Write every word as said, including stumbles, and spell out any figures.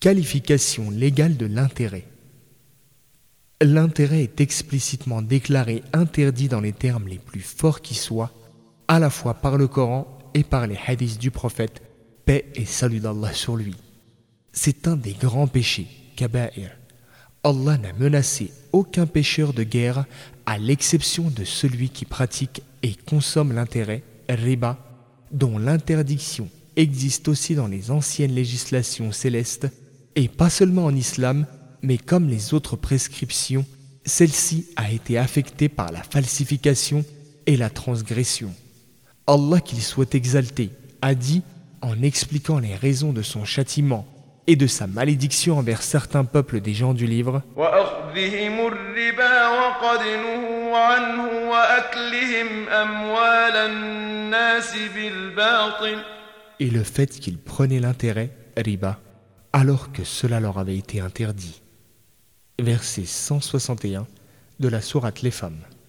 Qualification légale de l'intérêt. L'intérêt est explicitement déclaré interdit dans les termes les plus forts qui soient, à la fois par le Coran et par les hadiths du prophète, paix et salut d'Allah sur lui. C'est un des grands péchés, kaba'ir. Allah n'a menacé aucun pécheur de guerre à l'exception de celui qui pratique et consomme l'intérêt, riba, dont l'interdiction existe aussi dans les anciennes législations célestes, et pas seulement en islam, mais comme les autres prescriptions, celle-ci a été affectée par la falsification et la transgression. Allah, qu'il soit exalté, a dit, en expliquant les raisons de son châtiment et de sa malédiction envers certains peuples des gens du livre, et le fait qu'ils prenaient l'intérêt, riba, alors que cela leur avait été interdit. Verset cent soixante et un de la sourate Les Femmes.